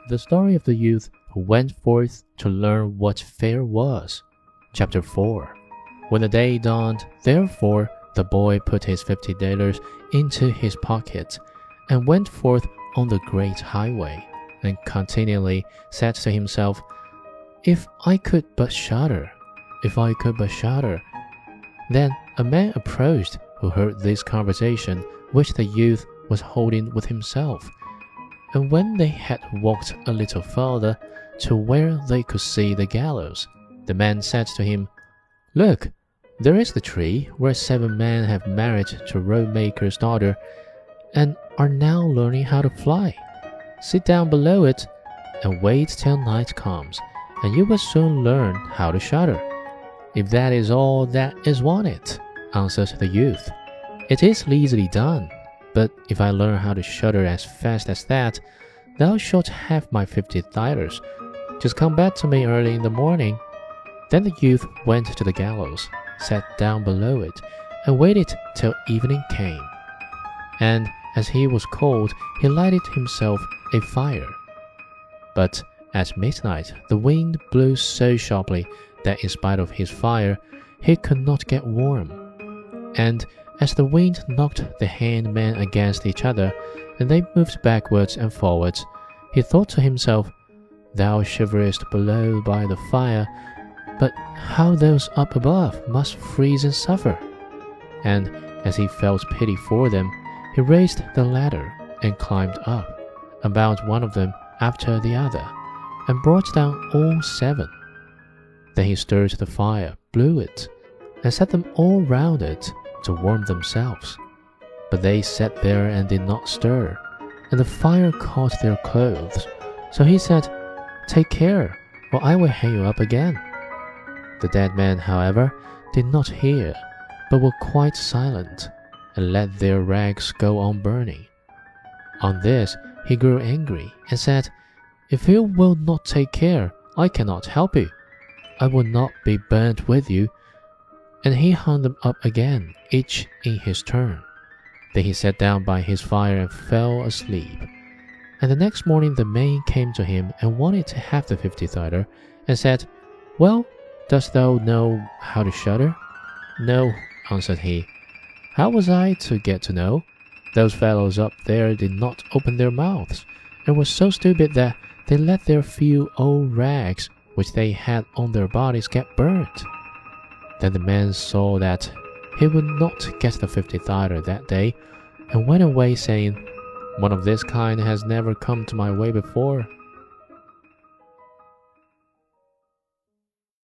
The story of the youth who went forth to learn what fair was. Chapter 4. When the day dawned, therefore, the boy put his $50 into his pocket and went forth on the great highway, and continually said to himself, If I could but shudder, if I could but shudder. Then a man approached who heard this conversation which the youth was holding with himself. And when they had walked a little further to where they could see the gallows, the man said to him, Look, there is the tree where 7 men have married to a road-maker's daughter, and are now learning how to fly. Sit down below it, and wait till night comes, and you will soon learn how to shudder. If that is all that is wanted, answered the youth, it is easily done. But if I learn how to shudder as fast as that, thou shalt have my $50. Just come back to me early in the morning. Then the youth went to the gallows, sat down below it, and waited till evening came. And as he was cold, he lighted himself a fire. But at midnight the wind blew so sharply that in spite of his fire, he could not get warm. And as the wind knocked the hangmen against each other, and they moved backwards and forwards, he thought to himself, Thou shiverest below by the fire, but how those up above must freeze and suffer. And as he felt pity for them, he raised the ladder and climbed up, and bound one of them after the other, and brought down all 7. Then he stirred the fire, blew it, and set them all round it to warm themselves. But they sat there and did not stir, and the fire caught their clothes. So he said, Take care, or I will hang you up again. The dead men, however, did not hear, but were quite silent, and let their rags go on burning. On this he grew angry, and said, If you will not take care, I cannot help you. I will not be burnt with you. And he hung them up again, each in his turn. Then he sat down by his fire and fell asleep. And the next morning the man came to him and wanted to have the $50, and said, Well, dost thou know how to shudder? No, answered he. How was I to get to know? Those fellows up there did not open their mouths, and were so stupid that they let their few old rags which they had on their bodies get burnt. Then the man saw that he would not get the $50 that day, and went away saying, One of this kind has never come to my way before.